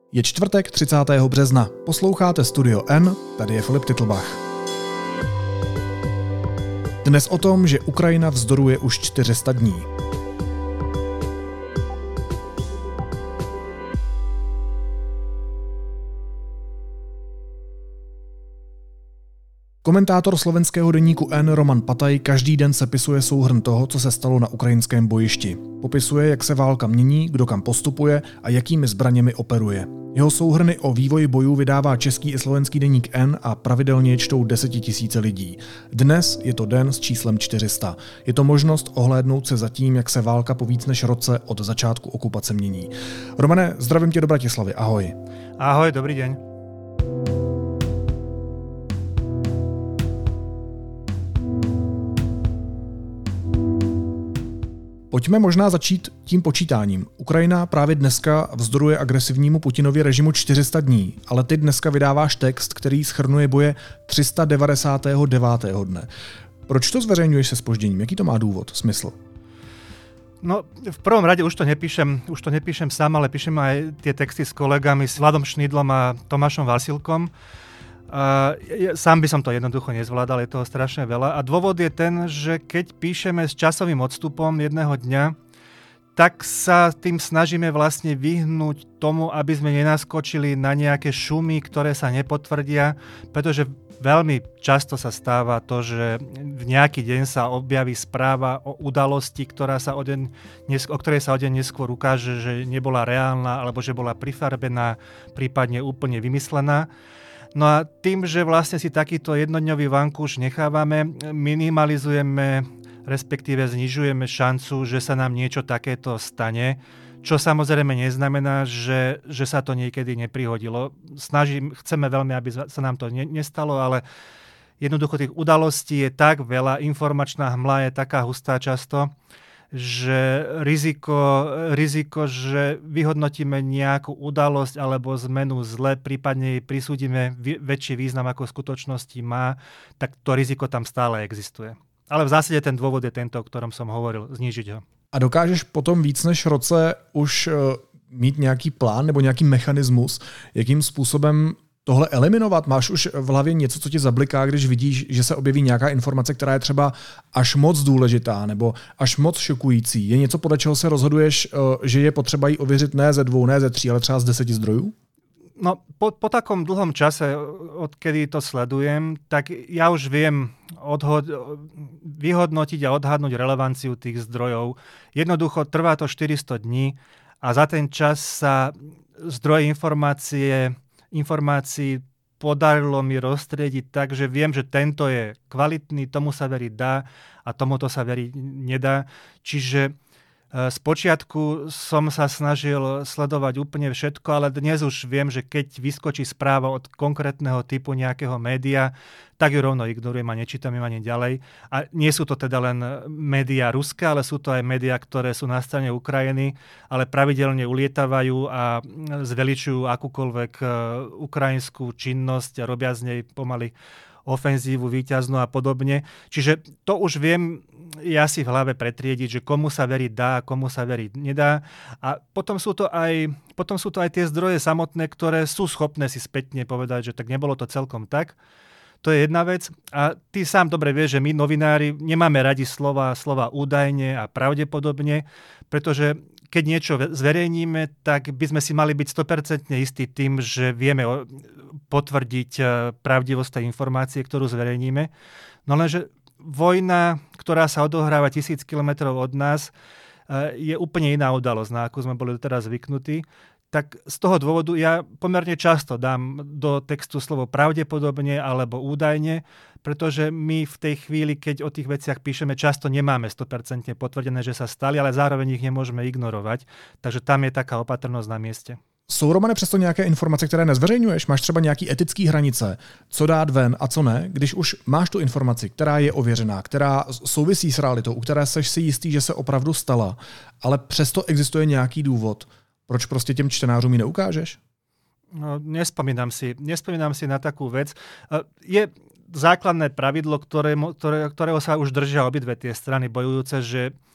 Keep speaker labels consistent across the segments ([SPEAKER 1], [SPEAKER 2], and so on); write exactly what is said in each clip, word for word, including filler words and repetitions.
[SPEAKER 1] Je čtvrtek třicátého března. Posloucháte Studio N, tady je Filip Titlbach. Dnes o tom, že Ukrajina vzdoruje už čtyři sta dní. Komentátor slovenského deníku N Roman Pataj každý den sepisuje souhrn toho, co se stalo na ukrajinském bojišti. Popisuje, jak se válka mění, kdo kam postupuje a jakými zbraněmi operuje. Jeho souhrny o vývoji bojů vydává český i slovenský deník N a pravidelně čtou desetitisíce lidí. Dnes je to den s číslem čtyři sta. Je to možnost ohlédnout se za tím, jak se válka po víc než roce od začátku okupace mění. Romane, zdravím tě do Bratislavy, ahoj.
[SPEAKER 2] Ahoj, dobrý deň.
[SPEAKER 1] Pojďme možná začít tím počítáním. Ukrajina právě dneska vzdoruje agresivnímu Putinově režimu čtyři sta dní, ale ty dneska vydáváš text, který shrnuje boje tři sta devadesátého devátého dne. Proč to zveřejňuješ se zpožděním? Jaký to má důvod, smysl?
[SPEAKER 2] No, v prvom rade už to nepíšem, už to nepíšem sám, ale píšem aj tie texty s kolegami, s Vladom Šnidlom a Tomášom Vasilkom. Uh, sám by som to jednoducho nezvládal, je toho strašne veľa. A dôvod je ten, že keď píšeme s časovým odstupom jedného dňa, tak sa tým snažíme vlastne vyhnúť tomu, aby sme nenaskočili na nejaké šumy, ktoré sa nepotvrdia, pretože veľmi často sa stáva to, že v nejaký deň sa objaví správa o udalosti, ktorá sa o, deň, o ktorej sa o deň neskôr ukáže, že nebola reálna alebo že bola prifarbená, prípadne úplne vymyslená. No a tým, že vlastne si takýto jednodňový vankúš nechávame, minimalizujeme, respektíve znižujeme šancu, že sa nám niečo takéto stane, čo samozrejme neznamená, že, že sa to niekedy neprihodilo. Snažím, chceme veľmi, aby sa nám to ne, nestalo, ale jednoducho tých udalostí je tak veľa, informačná hmla je taká hustá často, že riziko, riziko, že vyhodnotíme nejakú udalosť alebo zmenu zle, prípadne jej prisúdime väčší význam, ako v skutočnosti má, tak to riziko tam stále existuje. Ale v zásade ten dôvod je tento, o ktorom som hovoril, znížiť ho. A
[SPEAKER 1] dokážeš potom víc než roce už mít nějaký plán nebo nějaký mechanismus, jakým způsobem tohle eliminovat? Máš už v hlavě něco, co tě zabliká, když vidíš, že se objeví nějaká informace, která je třeba až moc důležitá nebo až moc šokující? Je něco, podle čeho se rozhoduješ, že je potřeba ji ověřit ne ze dvou, ne ze tří, ale třeba z deseti zdrojů?
[SPEAKER 2] No, po, po takom dlhom čase, odkedy to sledujem, tak ja už viem odhod, vyhodnotiť a odhadnúť relevanciu tých zdrojov. Jednoducho trvá to štyristo dní a za ten čas sa zdroje informácie informácií podarilo mi roztriediť tak, že viem, že tento je kvalitný, tomu sa veriť dá a tomuto sa veriť nedá. Čiže spočiatku som sa snažil sledovať úplne všetko, ale dnes už viem, že keď vyskočí správa od konkrétneho typu nejakého média, tak ju rovno ignorujem a nečítam ju ani ďalej. A nie sú to teda len médiá ruské, ale sú to aj médiá, ktoré sú na strane Ukrajiny, ale pravidelne ulietavajú a zveličujú akúkoľvek ukrajinskú činnosť a robia z nej pomaly ofenzívu víťaznú a podobne. Čiže to už viem ja si v hlave pretriediť, že komu sa veriť dá a komu sa veriť nedá. A potom sú to aj, potom sú to aj tie zdroje samotné, ktoré sú schopné si spätne povedať, že tak nebolo to celkom tak. To je jedna vec. A ty sám dobre vieš, že my novinári nemáme radi slova, slova údajne a pravdepodobne, pretože keď niečo zverejníme, tak by sme si mali byť sto percent istí tým, že vieme potvrdiť pravdivosť tej informácie, ktorú zverejníme. No lenže vojna, ktorá sa odohráva tisíc kilometrov od nás, je úplne iná udalosť, na akú sme boli doteraz zvyknutí. Tak z toho dôvodu ja pomerne často dám do textu slovo pravdepodobne alebo údajne, pretože my v tej chvíli, keď o tých veciach píšeme, často nemáme sto percent potvrdené, že sa stali, ale zároveň ich nemôžeme ignorovať. Takže tam je taká opatrnosť na mieste.
[SPEAKER 1] Jsou, Romane, přesto nějaké informace, které nezveřejňuješ? Máš třeba nějaký etický hranice, co dát ven a co ne, když už máš tu informaci, která je ověřená, která souvisí s realitou, u které seš si jistý, že se opravdu stala, ale přesto existuje nějaký důvod, proč prostě těm čtenářům ji neukážeš?
[SPEAKER 2] No, nespomínam si, nespomínam si na takú vec. Je základné pravidlo, ktoré, ktoré, ktorého sa už držia obidve tie strany bojujúce, že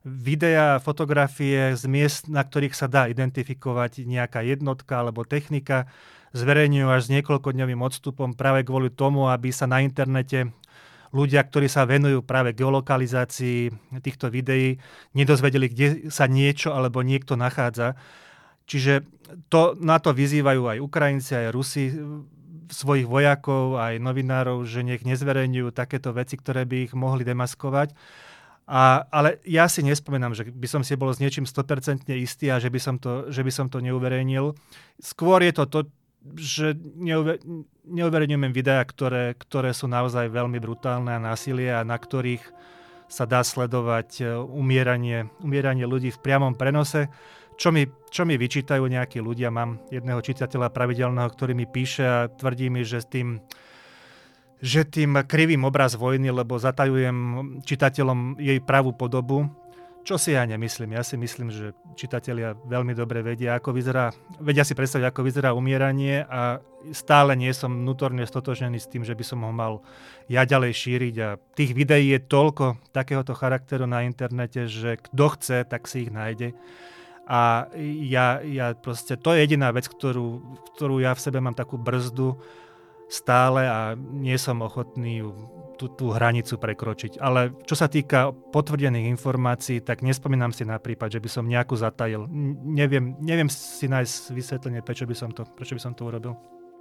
[SPEAKER 2] videá, fotografie z miest, na ktorých sa dá identifikovať nejaká jednotka alebo technika, zverejňujú až s niekoľkodňovým odstupom práve kvôli tomu, aby sa na internete ľudia, ktorí sa venujú práve geolokalizácii týchto videí, nedozvedeli, kde sa niečo alebo niekto nachádza. Čiže to, na to vyzývajú aj Ukrajinci, aj Rusi svojich vojakov, aj novinárov, že nech nezverejňujú takéto veci, ktoré by ich mohli demaskovať. A, ale ja si nespomínam, že by som si bol s niečím sto percent istý a že by som to, že by som to neuverejnil. Skôr je to to, že neuver, neuverejňujem videá, ktoré, ktoré sú naozaj veľmi brutálne a násilie a na ktorých sa dá sledovať umieranie, umieranie ľudí v priamom prenose. Čo mi, čo mi vyčítajú nejakí ľudia, mám jedného čitateľa pravidelného, ktorý mi píše a tvrdí mi, že s tým, že tým krivým obraz vojny, lebo zatajujem čitateľom jej pravú podobu. Čo si ja nemyslím. Ja si myslím, že čitatelia veľmi dobre vedia, ako vyzerá, vedia si predstaviť, ako vyzerá umieranie a stále nie som vnútorne stotožnený s tým, že by som ho mal ja ďalej šíriť. A tých videí je toľko takéhoto charakteru na internete, že kto chce, tak si ich nájde. A ja, ja proste, to je jediná vec, ktorú, ktorú ja v sebe mám takú brzdu stále a nie som ochotný ju Tú, tú hranicu prekročiť. Ale čo sa týka potvrdených informácií, tak nespomínam si na prípad, že by som nejakú zatajil. Neviem, neviem si nájsť vysvetlenie, prečo by som to, prečo by som to urobil.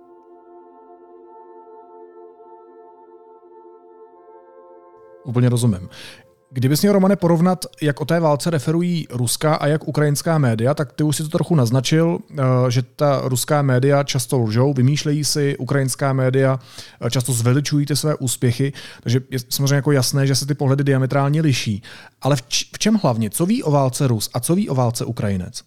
[SPEAKER 1] Úplně rozumím. Kdybys měl, Romane, porovnat, jak o té válce referují ruská a jak ukrajinská média, tak ty už si to trochu naznačil, že ta ruská média často lžou, vymýšlejí si, ukrajinská média často zveličují ty své úspěchy, takže je samozřejmě jako jasné, že se ty pohledy diametrálně liší. Ale v, č- v čem hlavně? Co ví o válce Rus a co ví o válce Ukrajinec?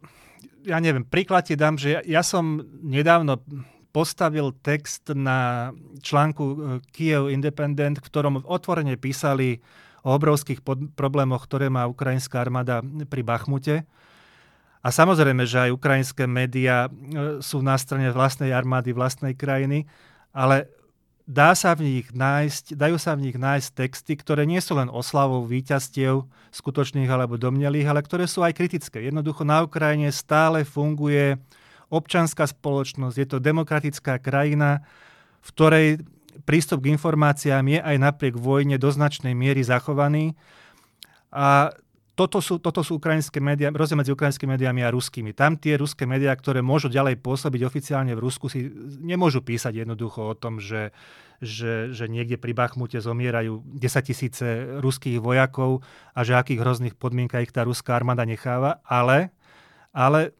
[SPEAKER 2] Ja neviem, príklad ti dám, že ja, ja som nedávno postavil text na článku Kiev Independent, v ktorom otvorene písali o obrovských pod- problémoch, ktoré má ukrajinská armáda pri Bachmute. A samozrejme, že aj ukrajinské médiá sú na strane vlastnej armády, vlastnej krajiny, ale dá sa v nich nájsť, dajú sa v nich nájsť texty, ktoré nie sú len oslavou víťazstiev skutočných alebo domnelých, ale ktoré sú aj kritické. Jednoducho na Ukrajine stále funguje občianská spoločnosť, je to demokratická krajina, v ktorej prístup k informáciám je aj napriek vojne do značnej miery zachovaný. A toto sú, toto sú ukrajinské médiá, rozdiel medzi ukrajinskými médiami a ruskými. Tam tie ruské médiá, ktoré môžu ďalej pôsobiť oficiálne v Rusku, si nemôžu písať jednoducho o tom, že, že, že niekde pri Bachmute zomierajú desaťtisíce ruských vojakov a že akých hrozných podmienkach ich tá ruská armáda necháva. Ale, ale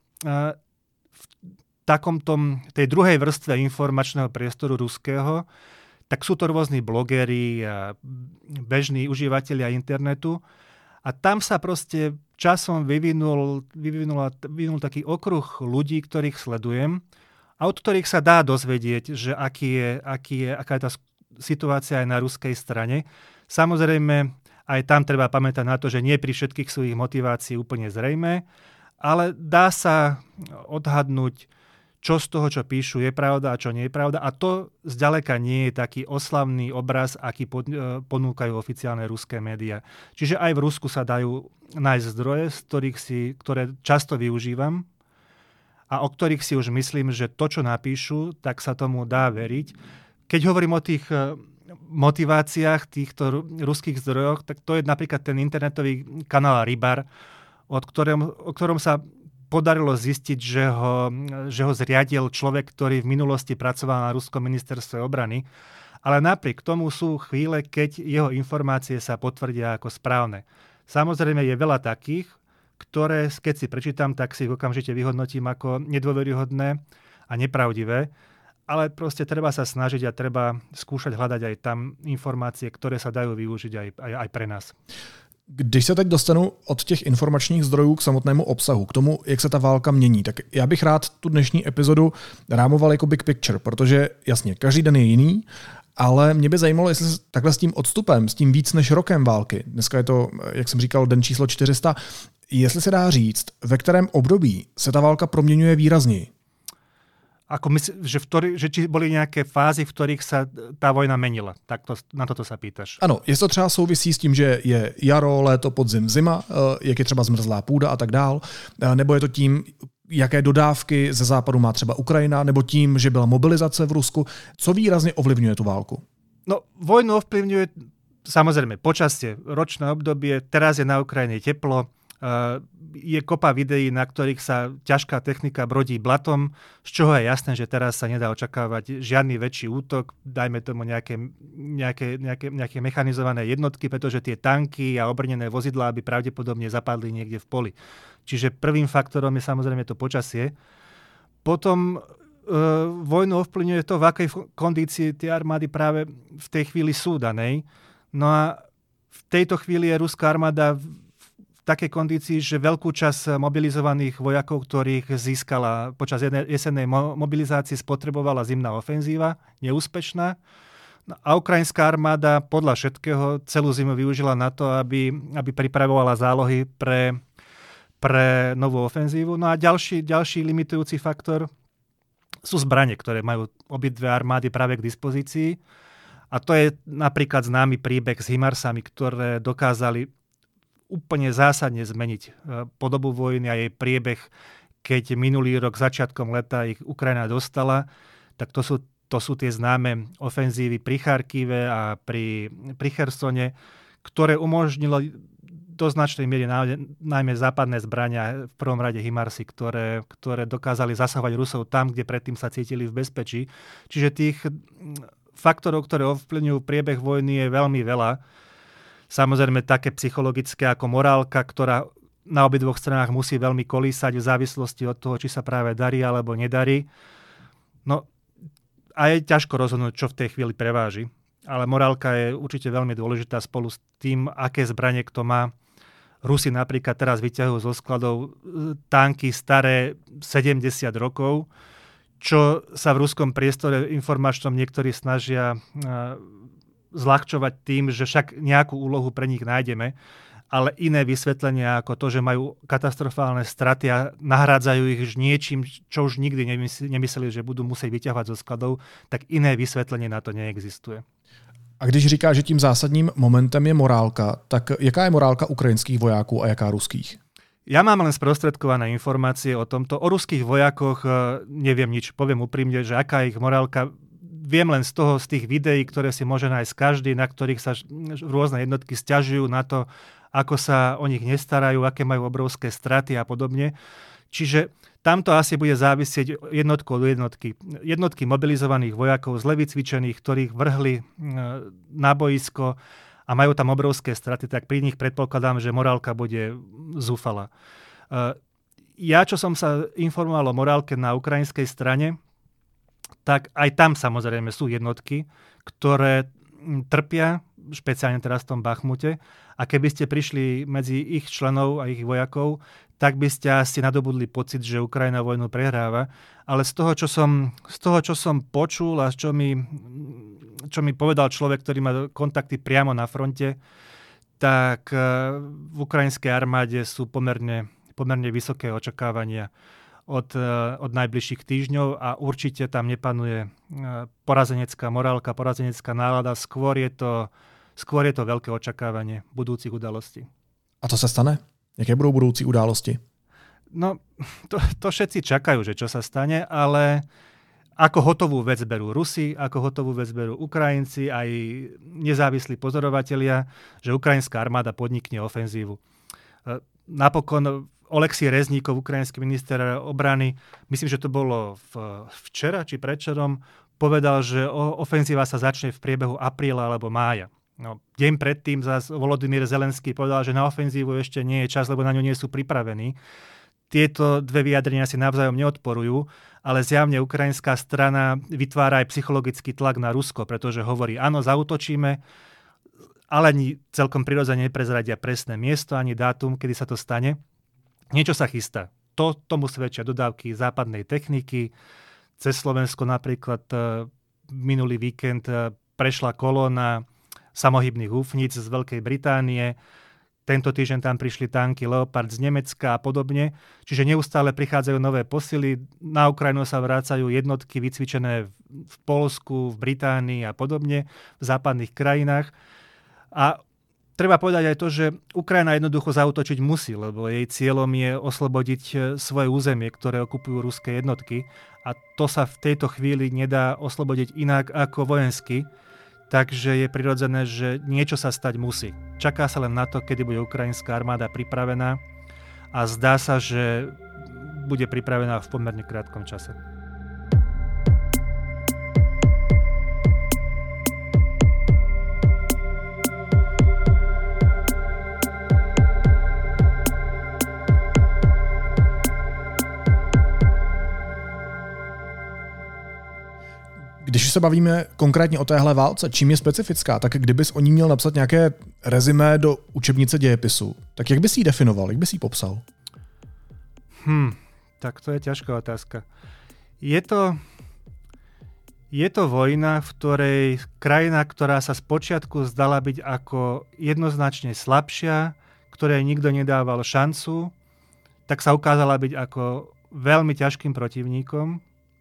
[SPEAKER 2] v takomto, tej druhej vrstve informačného priestoru ruského tak sú to rôzni blogeri a bežní užívateľia internetu. A tam sa proste časom vyvinul, vyvinul, vyvinul taký okruh ľudí, ktorých sledujem a od ktorých sa dá dozvedieť, že aký je, aký je, aká je tá situácia aj na ruskej strane. Samozrejme, aj tam treba pamätať na to, že nie pri všetkých sú ich motivácií úplne zrejmé, ale dá sa odhadnúť, čo z toho, čo píšu, je pravda a čo nie je pravda. A to zďaleka nie je taký oslavný obraz, aký pod, ponúkajú oficiálne ruské médiá. Čiže aj v Rusku sa dajú nájsť zdroje, z ktorých si, ktoré často využívam a o ktorých si už myslím, že to, čo napíšu, tak sa tomu dá veriť. Keď hovorím o tých motiváciách týchto ruských zdrojoch, tak to je napríklad ten internetový kanál Rybar, od ktorom, o ktorom sa podarilo zistiť, že ho, že ho zriadil človek, ktorý v minulosti pracoval na ruskom ministerstve obrany. Ale napriek tomu sú chvíle, keď jeho informácie sa potvrdia ako správne. Samozrejme je veľa takých, ktoré, keď si prečítam, tak si ich okamžite vyhodnotím ako nedôveryhodné a nepravdivé. Ale proste treba sa snažiť a treba skúšať hľadať aj tam informácie, ktoré sa dajú využiť aj, aj, aj pre nás.
[SPEAKER 1] Když se teď dostanu od těch informačních zdrojů k samotnému obsahu, k tomu, jak se ta válka mění, tak já bych rád tu dnešní epizodu rámoval jako big picture, protože jasně, každý den je jiný, ale mě by zajímalo, jestli se takhle s tím odstupem, s tím víc než rokem války, dneska je to, jak jsem říkal, den číslo čtyři sta, jestli se dá říct, ve kterém období se ta válka proměňuje výrazněji.
[SPEAKER 2] Ako mysl, že, v ktorý, že či boli nejaké fázy, v ktorých sa tá vojna menila? Tak to, na toto sa pýtaš.
[SPEAKER 1] Ano, jestli to třeba souvisí s tím, že je jaro, léto, podzim, zima, jak je třeba zmrzlá půda a tak dál, nebo je to tím, jaké dodávky ze západu má třeba Ukrajina, nebo tím, že byla mobilizace v Rusku. Co výrazně ovlivňuje tu válku?
[SPEAKER 2] No, vojnu ovplyvňuje samozrejme počasie, ročné obdobie, teraz je na Ukrajine teplo, je kopa videí, na ktorých sa ťažká technika brodí blatom, z čoho je jasné, že teraz sa nedá očakávať žiadny väčší útok, dajme tomu nejaké, nejaké, nejaké, nejaké mechanizované jednotky, pretože tie tanky a obrnené vozidlá by pravdepodobne zapadli niekde v poli. Čiže prvým faktorom je samozrejme to počasie. Potom e, vojnu ovplyvňuje to, v akej kondícii tie armády práve v tej chvíli sú danej. No a v tejto chvíli je ruská armáda takej kondícii, že veľkú časť mobilizovaných vojakov, ktorých získala počas jesennej mobilizácie, spotrebovala zimná ofenzíva, neúspešná. A ukrajinská armáda podľa všetkého celú zimu využila na to, aby, aby pripravovala zálohy pre, pre novú ofenzívu. No a ďalší, ďalší limitujúci faktor sú zbrane, ktoré majú obidve armády práve k dispozícii. A to je napríklad známy príbeh s HIMARSami, ktoré dokázali úplne zásadne zmeniť podobu vojny a jej priebeh, keď minulý rok začiatkom leta ich Ukrajina dostala, tak to sú, to sú tie známe ofenzívy pri Charkive a pri, pri Chersone, ktoré umožnilo do značnej miery najmä západné zbrania, v prvom rade HIMARSy, ktoré, ktoré dokázali zasahovať Rusov tam, kde predtým sa cítili v bezpečí. Čiže tých faktorov, ktoré ovplyvňujú priebeh vojny, je veľmi veľa. Samozrejme také psychologické ako morálka, ktorá na obidvoch stranách musí veľmi kolísať v závislosti od toho, či sa práve darí alebo nedarí. No a je ťažko rozhodnúť, čo v tej chvíli preváži. Ale morálka je určite veľmi dôležitá spolu s tým, aké zbranie kto má. Rusi napríklad teraz vyťahujú zo skladov tanky staré sedemdesiat rokov, čo sa v ruskom priestore informačnom niektorí snažia zľahčovať tým, že však nejakú úlohu pre nich nájdeme, ale iné vysvetlenia ako to, že majú katastrofálne straty a nahrádzajú ich niečím, čo už nikdy nemysleli, že budú musieť vyťahovať zo skladov, tak iné vysvetlenie na to neexistuje.
[SPEAKER 1] A když říká, že tím zásadním momentem je morálka, tak jaká je morálka ukrajinských vojáků a jaká ruských?
[SPEAKER 2] Ja mám len sprostredkované informácie o tomto. O ruských vojakoch neviem nič. Poviem úprimne, že aká je ich morálka. Viem len z toho, z tých videí, ktoré si môže nájsť každý, na ktorých sa rôzne jednotky sťažujú na to, ako sa o nich nestarajú, aké majú obrovské straty a podobne. Čiže tamto asi bude závisieť jednotku od jednotky. Jednotky mobilizovaných vojakov, zle vycvičených, ktorých vrhli na boisko a majú tam obrovské straty, tak pri nich predpokladám, že morálka bude zúfala. Ja, čo som sa informoval o morálke na ukrajinskej strane, tak aj tam samozrejme sú jednotky, ktoré trpia, špeciálne teraz v tom Bachmute. A keby ste prišli medzi ich členov a ich vojakov, tak by ste asi nadobudli pocit, že Ukrajina vojnu prehráva. Ale z toho, čo som, z toho, čo som počul a čo mi, čo mi povedal človek, ktorý má kontakty priamo na fronte, tak v ukrajinskej armáde sú pomerne, pomerne vysoké očakávania Od, od najbližších týždňov a určite tam nepanuje porazenecká morálka, porazenecká nálada. Skôr je to, skôr je to veľké očakávanie budúcich udalostí.
[SPEAKER 1] A to sa stane? Jaké budú budúci události?
[SPEAKER 2] No, to, to všetci čakajú, že čo sa stane, ale ako hotovú vec berú Rusi, ako hotovú vec berú Ukrajinci, aj nezávislí pozorovatelia, že ukrajinská armáda podnikne ofenzívu. Napokon Oleksij Rezníkov, ukrajinský minister obrany, myslím, že to bolo v, včera či predčerom, povedal, že ofenzíva sa začne v priebehu apríla alebo mája. No, deň predtým zase Volodymyr Zelenský povedal, že na ofenzívu ešte nie je čas, lebo na ňu nie sú pripravení. Tieto dve vyjadrenia si navzájom neodporujú, ale zjavne ukrajinská strana vytvára aj psychologický tlak na Rusko, pretože hovorí, áno, zaútočíme, ale ani celkom prirodzene neprezradia presné miesto ani dátum, kedy sa to stane. Niečo sa chystá. To, tomu svedčia dodávky západnej techniky. Cez Slovensko napríklad minulý víkend prešla kolóna samohybných húfnic z Veľkej Británie, Tento týždeň tam prišli tanky Leopard z Nemecka a podobne. Čiže neustále prichádzajú nové posily. Na Ukrajinu sa vrácajú jednotky vycvičené v Poľsku, v Británii a podobne, v západných krajinách. A treba povedať aj to, že Ukrajina jednoducho zaútočiť musí, lebo jej cieľom je oslobodiť svoje územie, ktoré okupujú ruské jednotky. A to sa v tejto chvíli nedá oslobodiť inak ako vojensky. Takže je prirodzené, že niečo sa stať musí. Čaká sa len na to, kedy bude ukrajinská armáda pripravená a zdá sa, že bude pripravená v pomerne krátkom čase.
[SPEAKER 1] Když se bavíme konkrétně o téhle válce, čím je specifická, tak kdybys o ní měl napsat nějaké rezimé do učebnice dějepisu, tak jak bys ji definoval, jak bys ji popsal?
[SPEAKER 2] Hm, tak to je ťažká otázka. Je to, je to vojna, v ktorej krajina, ktorá sa spočiatku zdala byť ako jednoznačne slabšia, ktorej nikto nedával šancu, tak sa ukázala byť ako veľmi ťažkým protivníkom.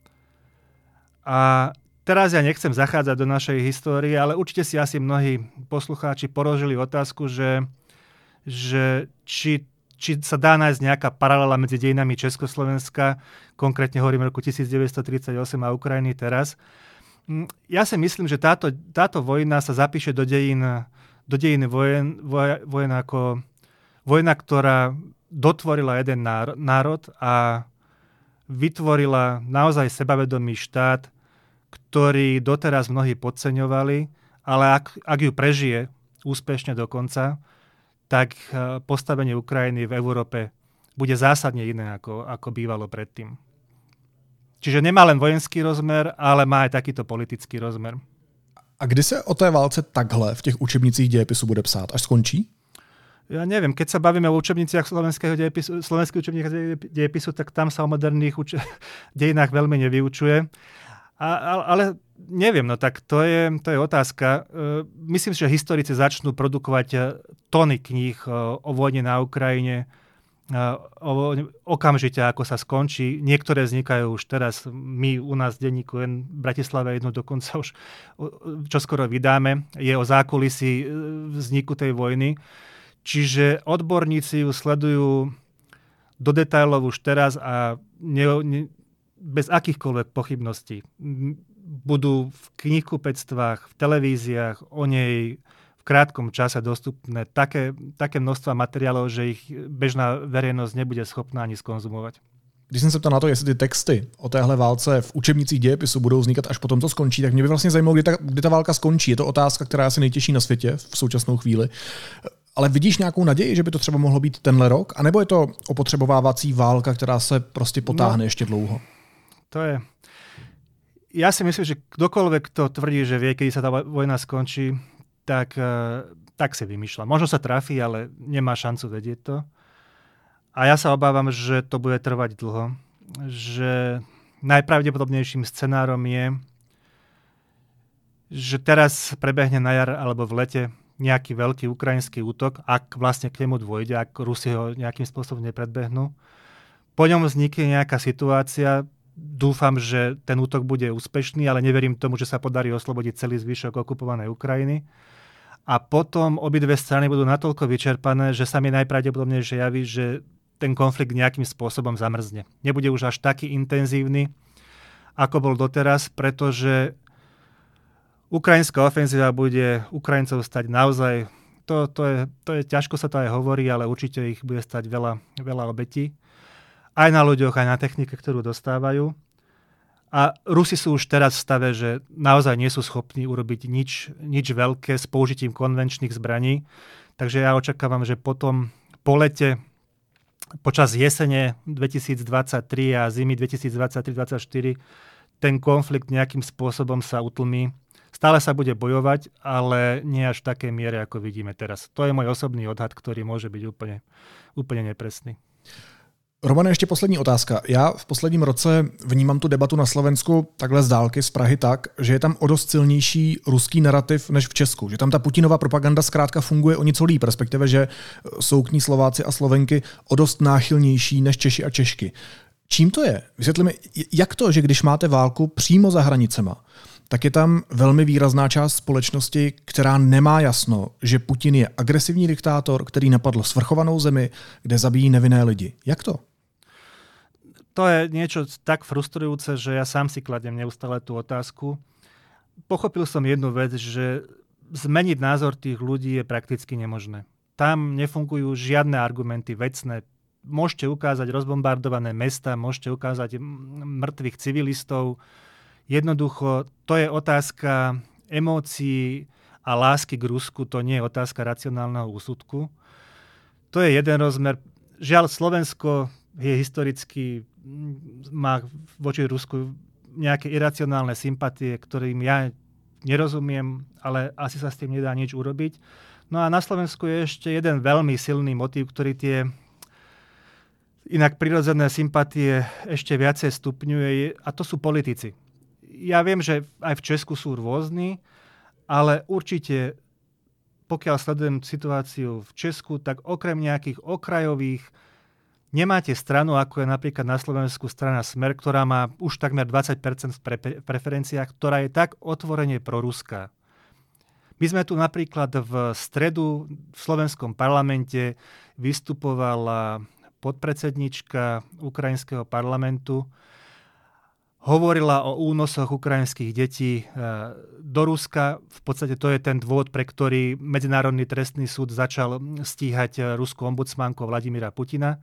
[SPEAKER 2] A teraz ja nechcem zachádzať do našej histórie, ale určite si asi mnohí poslucháči položili otázku, že, že či, či sa dá nájsť nejaká paralela medzi dejinami Československa, konkrétne hovorím roku devätnásťtridsaťosem a Ukrajiny teraz. Ja si myslím, že táto, táto vojna sa zapíše do dejín, do dejín vojen, voj, vojen ako vojna, ktorá dotvorila jeden národ a vytvorila naozaj sebavedomý štát, ktorý doteraz mnohí podceňovali, ale ak, ak ju prežije úspešne do konca, tak postavenie Ukrajiny v Európe bude zásadne iné, ako, ako bývalo predtým. Čiže nemá len vojenský rozmer, ale má aj takýto politický rozmer.
[SPEAKER 1] A kdy se o té válce takhle v těch učebnicích dějepisu bude psát? Až skončí?
[SPEAKER 2] Ja neviem, keď sa bavíme o učebniciach slovenského dejepisu, slovenských učebniciach dejepisu, tak tam sa o moderných uč- dejinách veľmi nevyučuje. A, ale neviem, no tak to je, to je otázka. Myslím si, že historici začnú produkovať tony kníh o vojne na Ukrajine o, okamžite, ako sa skončí. Niektoré vznikajú už teraz. My u nás v denníku N v Bratislave jednu dokonca už čoskoro vydáme. Je o zákulisí vzniku tej vojny. Čiže odborníci ju sledujú do detailov už teraz a ne, ne, bez akýchkoľvek pochybností. Budú v knihkupectvách, v televíziách o nej v krátkom čase dostupné také, také množstva materiálov, že ich bežná verejnosť nebude schopná ani skonzumovať.
[SPEAKER 1] Když jsem se ptal na to, jestli ty texty o téhle válce v učebnicích dějepisu budou vznikat až potom, co skončí, tak mě by vlastně zajímalo, kdy ta, kdy ta válka skončí. Je to otázka, která je asi nejtěžší na světě v současnou chvíli. Ale vidíš nějakou naději, že by to třeba mohlo být tenhle rok? A nebo je to opotřebovávací válka, která se prostě potáhne no, ještě dlouho?
[SPEAKER 2] To je... Ja si myslím, že kdokoľvek to tvrdí, že vie, kedy sa tá vojna skončí, tak, tak si vymýšľa. Možno sa trafí, ale nemá šancu vedieť to. A ja sa obávam, že to bude trvať dlho. Že najpravdepodobnejším scenárom je, že teraz prebehne na jar alebo v lete nejaký veľký ukrajinský útok, ak vlastne k nemu dôjde, ak Rusi ho nejakým spôsobom nepredbehnú. Po ňom vznikne nejaká situácia. Dúfam, že ten útok bude úspešný, ale neverím tomu, že sa podarí oslobodiť celý zvyšok okupovanej Ukrajiny. A potom obidve strany budú natoľko vyčerpané, že sa mi najpravdepodobnejšie javí, že ten konflikt nejakým spôsobom zamrzne. Nebude už až taký intenzívny, ako bol doteraz, pretože ukrajinská ofenzíva bude Ukrajincov stať naozaj, to, to, je, to je, ťažko sa to aj hovorí, ale určite ich bude stať veľa, veľa obetí. Aj na ľuďoch, aj na technike, ktorú dostávajú. A Rusi sú už teraz v stave, že naozaj nie sú schopní urobiť nič, nič veľké s použitím konvenčných zbraní. Takže ja očakávam, že potom po lete, počas jesene dvetisícdvadsaťtri a zimy dvetisícdvadsaťtri dvadsaťštyri ten konflikt nejakým spôsobom sa utlmí. Stále sa bude bojovať, ale nie až v takej miere, ako vidíme teraz. To je môj osobný odhad, ktorý môže byť úplne, úplne nepresný.
[SPEAKER 1] Romane, ještě poslední otázka. Já v posledním roce vnímám tu debatu na Slovensku takhle z dálky, z Prahy tak, že je tam o dost silnější ruský narrativ než v Česku. Že tam ta Putinova propaganda zkrátka funguje o něco líp, respektive, že jsou k ní Slováci a Slovenky o dost náchylnější než Češi a Češky. Čím to je? Vysvětli mi, jak to, že když máte válku přímo za hranicema, tak je tam velmi výrazná část společnosti, která nemá jasno, že Putin je agresivní diktátor, který napadl svrchovanou zemi, kde zabíjí nevinné lidi. Jak to?
[SPEAKER 2] To je niečo tak frustrujúce, že ja sám si kladiem neustále tú otázku. Pochopil som jednu vec, že zmeniť názor tých ľudí je prakticky nemožné. Tam nefungujú žiadne argumenty vecné. Môžete ukázať rozbombardované mesta, môžete ukázať mŕtvych civilistov. Jednoducho, to je otázka emócií a lásky k Rusku, to nie je otázka racionálneho úsudku. To je jeden rozmer. Žiaľ, Slovensko je historicky, má voči Rusku nejaké iracionálne sympatie, ktorým ja nerozumiem, ale asi sa s tým nedá nič urobiť. No a na Slovensku je ešte jeden veľmi silný motív, ktorý tie inak prirodzené sympatie ešte viacej stupňuje, a to sú politici. Ja viem, že aj v Česku sú rôzni, ale určite, pokiaľ sledujem situáciu v Česku, tak okrem nejakých okrajových nemáte stranu, ako je napríklad na Slovensku strana Smer, ktorá má už takmer dvadsať percent v pre- preferenciách, ktorá je tak otvorene proruská. My sme tu napríklad v stredu v slovenskom parlamente vystupovala podpredsednička ukrajinského parlamentu, hovorila o únosoch ukrajinských detí do Ruska. V podstate to je ten dôvod, pre ktorý Medzinárodný trestný súd začal stíhať ruskú ombudsmanku Vladimíra Putina.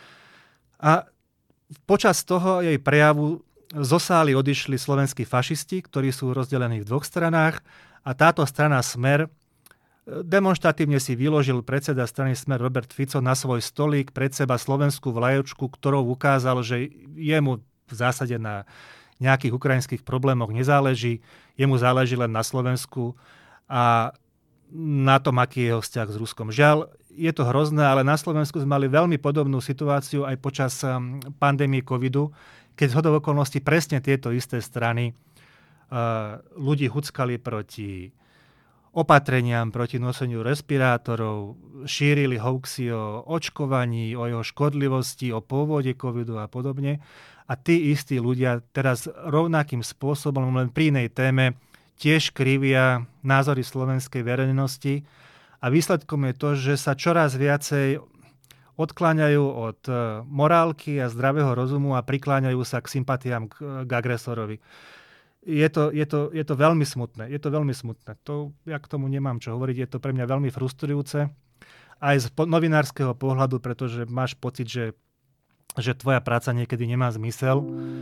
[SPEAKER 2] A počas toho jej prejavu zo sály odišli slovenskí fašisti, ktorí sú rozdelení v dvoch stranách, a táto strana Smer demonštratívne si vyložil predseda strany Smer Robert Fico na svoj stolík pred seba slovenskú vlajočku, ktorou ukázal, že jemu v zásade na nejakých ukrajinských problémoch nezáleží, jemu záleží len na Slovensku a na tom, aký je jeho vzťah s Ruskom. Žiaľ, je to hrozné, ale na Slovensku sme mali veľmi podobnú situáciu aj počas pandémie covidu, keď zhodou okolností presne tieto isté strany uh, ľudí huckali proti opatreniam, proti noseniu respirátorov, šírili hoaxy o očkovaní, o jeho škodlivosti, o pôvode covidu a podobne. A tí istí ľudia teraz rovnakým spôsobom, len pri inej téme, tiež krivia názory slovenskej verejnosti. A výsledkom je to, že sa čoraz viacej odkláňajú od morálky a zdravého rozumu a prikláňajú sa k sympatiám k, k agresorovi. Je to, je, to, je to veľmi smutné. Je to veľmi smutné. To, ja k tomu nemám čo hovoriť. Je to pre mňa veľmi frustrujúce. Aj z novinárskeho pohľadu, pretože máš pocit, že, že tvoja práca niekedy nemá zmysel.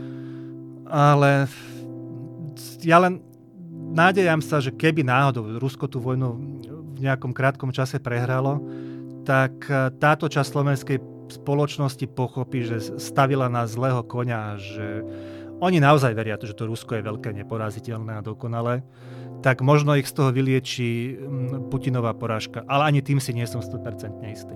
[SPEAKER 2] Ale ja len nádejam sa, že keby náhodou Rusko tú vojnu v nejakom krátkom čase prehralo, tak táto časť slovenskej spoločnosti pochopí, že stavila na zlého koňa, že oni naozaj veria, že to Rusko je veľké, neporaziteľné a dokonalé, tak možno ich z toho vylieči Putinová porážka. Ale ani tým si nie som sto percent istý.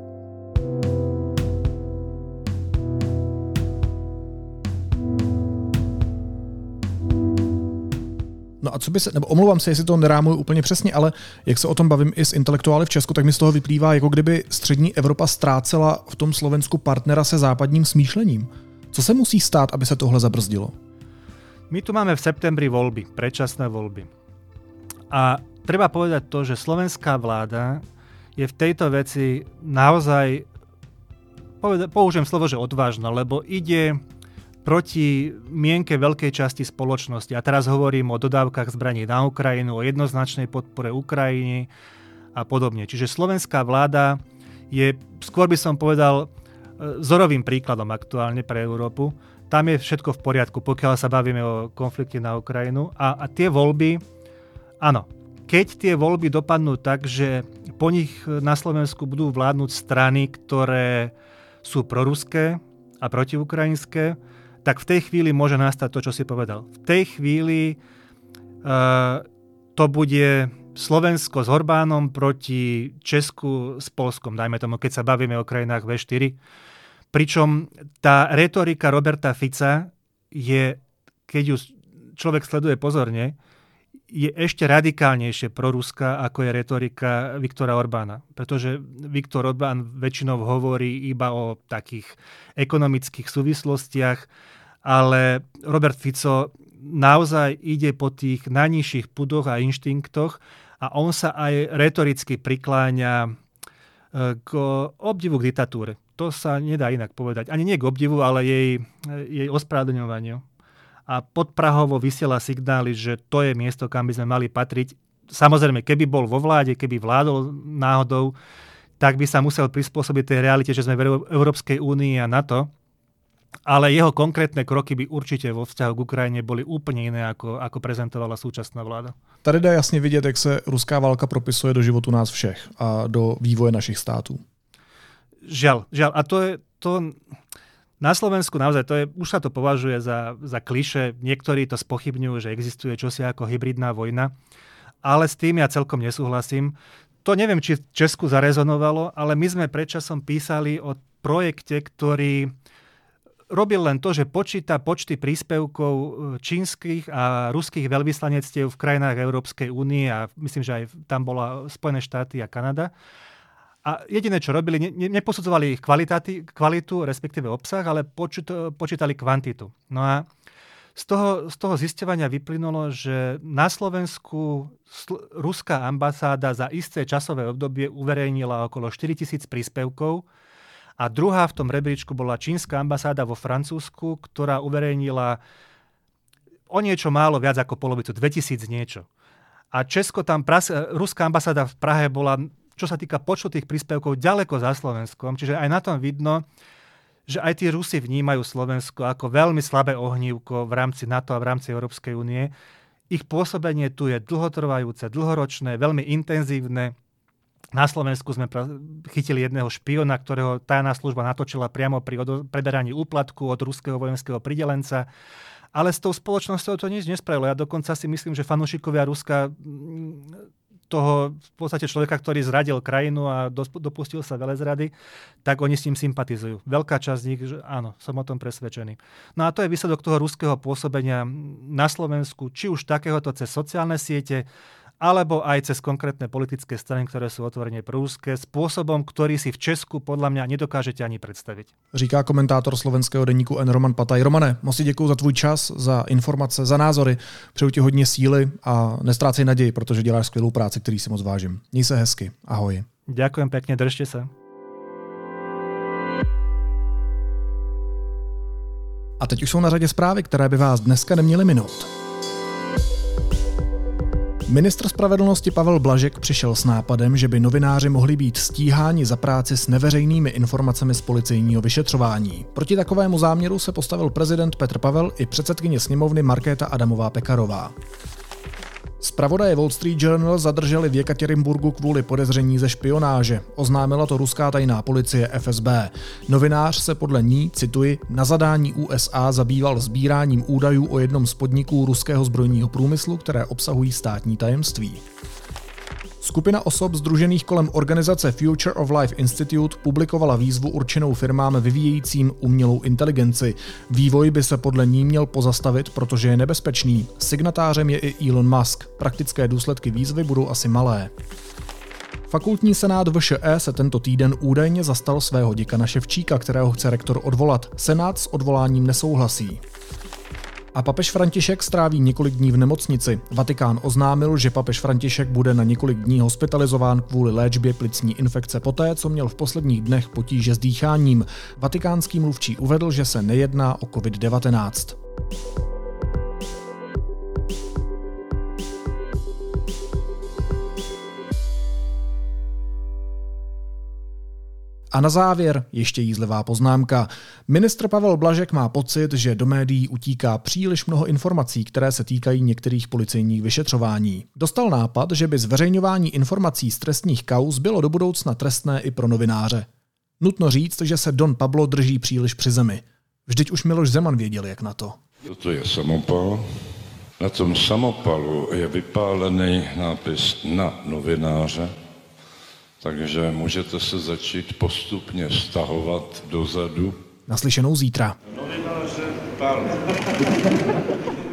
[SPEAKER 1] No a co by se, nebo omlouvám se, jestli to nerámuju úplně přesně, ale jak se o tom bavím i s intelektuály v Česku, tak mi z toho vyplývá, jako kdyby střední Evropa ztrácela v tom Slovensku partnera se západním smýšlením. Co se musí stát, aby se tohle zabrzdilo?
[SPEAKER 2] My tu máme v septembri voľby, predčasné voľby. A treba povedať to, že slovenská vláda je v tejto veci naozaj, použijem slovo, že odvážna, lebo ide proti mienke veľkej časti spoločnosti. A teraz hovorím o dodávkach zbraní na Ukrajinu, o jednoznačnej podpore Ukrajiny a podobne. Čiže slovenská vláda je, skôr by som povedal, vzorovým príkladom aktuálne pre Európu. Tam je všetko v poriadku, pokiaľ sa bavíme o konflikte na Ukrajinu. A, a tie voľby, áno, keď tie voľby dopadnú tak, že po nich na Slovensku budú vládnuť strany, ktoré sú proruské a protiukrajinské, tak v tej chvíli môže nastať to, čo si povedal. V tej chvíli uh, to bude Slovensko s Orbánom proti Česku s Polskom, dajme tomu, keď sa bavíme o krajinách vé štyri. Pričom tá retorika Roberta Fica je, keď ju človek sleduje pozorne, je ešte radikálnejšie proruská, ako je retorika Viktora Orbána. Pretože Viktor Orbán väčšinou hovorí iba o takých ekonomických súvislostiach, ale Robert Fico naozaj ide po tých najnižších pudoch a inštinktoch a on sa aj retoricky prikláňa k obdivu k diktatúre. To sa nedá inak povedať. Ani nie k obdivu, ale jej, jej ospravedlňovaniu. A podprahovo vysiela signály, že to je miesto, kam by sme mali patriť. Samozrejme, keby bol vo vláde, keby vládol náhodou, tak by sa musel prispôsobiť tej realite, že sme v Európskej únii a NATO. Ale jeho konkrétne kroky by určite vo vzťahu k Ukrajine boli úplne iné, ako, ako prezentovala súčasná vláda.
[SPEAKER 1] Tady dá jasně vidět, jak se ruská válka propisuje do životu nás všech a do vývoje našich států.
[SPEAKER 2] Žiaľ, žiaľ. A to je... To... Na Slovensku naozaj, to je, už sa to považuje za, za klišé. Niektorí to spochybňujú, že existuje čosi ako hybridná vojna. Ale s tým ja celkom nesúhlasím. To neviem, či v Česku zarezonovalo, ale my sme predčasom písali o projekte, ktorý robil len to, že počíta počty príspevkov čínskych a ruských veľvyslanectiev v krajinách Európskej únie a myslím, že aj tam bola Spojené štáty a Kanada. A jediné, čo robili, ne, neposudzovali ich kvalitu, respektíve obsah, ale počít, počítali kvantitu. No a z toho, z toho zisťovania vyplynulo, že na Slovensku sl- ruská ambasáda za isté časové obdobie uverejnila okolo štyritisíc príspevkov a druhá v tom rebríčku bola čínska ambasáda vo Francúzsku, ktorá uverejnila o niečo málo viac ako polovicu, dvetisíc niečo. A Česko tam, pras- ruská ambasáda v Prahe bola, čo sa týka počtu tých príspevkov, ďaleko za Slovenskom. Čiže aj na tom vidno, že aj tí Rusi vnímajú Slovensko ako veľmi slabé ohnívko v rámci NATO a v rámci Európskej únie. Ich pôsobenie tu je dlhotrvajúce, dlhoročné, veľmi intenzívne. Na Slovensku sme chytili jedného špiona, ktorého tajná služba natočila priamo pri odo- preberaní úplatku od ruského vojenského pridelenca. Ale s tou spoločnosťou to nič nespravilo. Ja dokonca si myslím, že fanúšikovia Ruska toho v podstate človeka, ktorý zradil krajinu a dopustil sa velezrady, tak oni s ním sympatizujú. Veľká časť z nich, že áno, som o tom presvedčený. No a to je výsledok toho ruského pôsobenia na Slovensku, či už takéhoto cez sociálne siete, alebo aj cez konkrétne politické strany, ktoré sú otvorene proruské, spôsobom, ktorý si v Česku podľa mňa nedokážete ani predstaviť.
[SPEAKER 1] Říká komentátor slovenského deníku N Roman Pataj. Romane, moc děkuji za tvůj čas, za informace, za názory. Přeju ti hodně síly a nestrácej naději, protože děláš skvělou práci, který si moc vážím. Měj se hezky. Ahoj.
[SPEAKER 2] Ďakujem pekne, držte sa.
[SPEAKER 1] A teď už jsou na řadě zprávy, které by vás dneska neměly minout. Ministr spravedlnosti Pavel Blažek přišel s nápadem, že by novináři mohli být stíháni za práci s neveřejnými informacemi z policejního vyšetřování. Proti takovému záměru se postavil prezident Petr Pavel i předsedkyně sněmovny Markéta Adamová Pekarová. Zpravodaje Wall Street Journal zadrželi v Jekatěrinburgu kvůli podezření ze špionáže. Oznámila to ruská tajná policie F S B. Novinář se podle ní, cituji, na zadání U S A zabýval sbíráním údajů o jednom z podniků ruského zbrojního průmyslu, které obsahují státní tajemství. Skupina osob sdružených kolem organizace Future of Life Institute publikovala výzvu určenou firmám vyvíjejícím umělou inteligenci. Vývoj by se podle ní měl pozastavit, protože je nebezpečný. Signatářem je i Elon Musk. Praktické důsledky výzvy budou asi malé. Fakultní senát V Š E se tento týden údajně zastal svého děkana Ševčíka, kterého chce rektor odvolat. Senát s odvoláním nesouhlasí. A papež František stráví několik dní v nemocnici. Vatikán oznámil, že papež František bude na několik dní hospitalizován kvůli léčbě plicní infekce poté, co měl v posledních dnech potíže s dýcháním. Vatikánský mluvčí uvedl, že se nejedná o covid devatenáct. A na závěr ještě jízlivá poznámka. Ministr Pavel Blažek má pocit, že do médií utíká příliš mnoho informací, které se týkají některých policejních vyšetřování. Dostal nápad, že by zveřejňování informací z trestních kauz bylo do budoucna trestné i pro novináře. Nutno říct, že se Don Pablo drží příliš při zemi. Vždyť už Miloš Zeman věděl, jak na to.
[SPEAKER 3] Toto je samopal. Na tom samopalu je vypálený nápis na novináře. Takže můžete se začít postupně stahovat dozadu.
[SPEAKER 1] Naslyšenou zítra.
[SPEAKER 3] Novináře, pardon.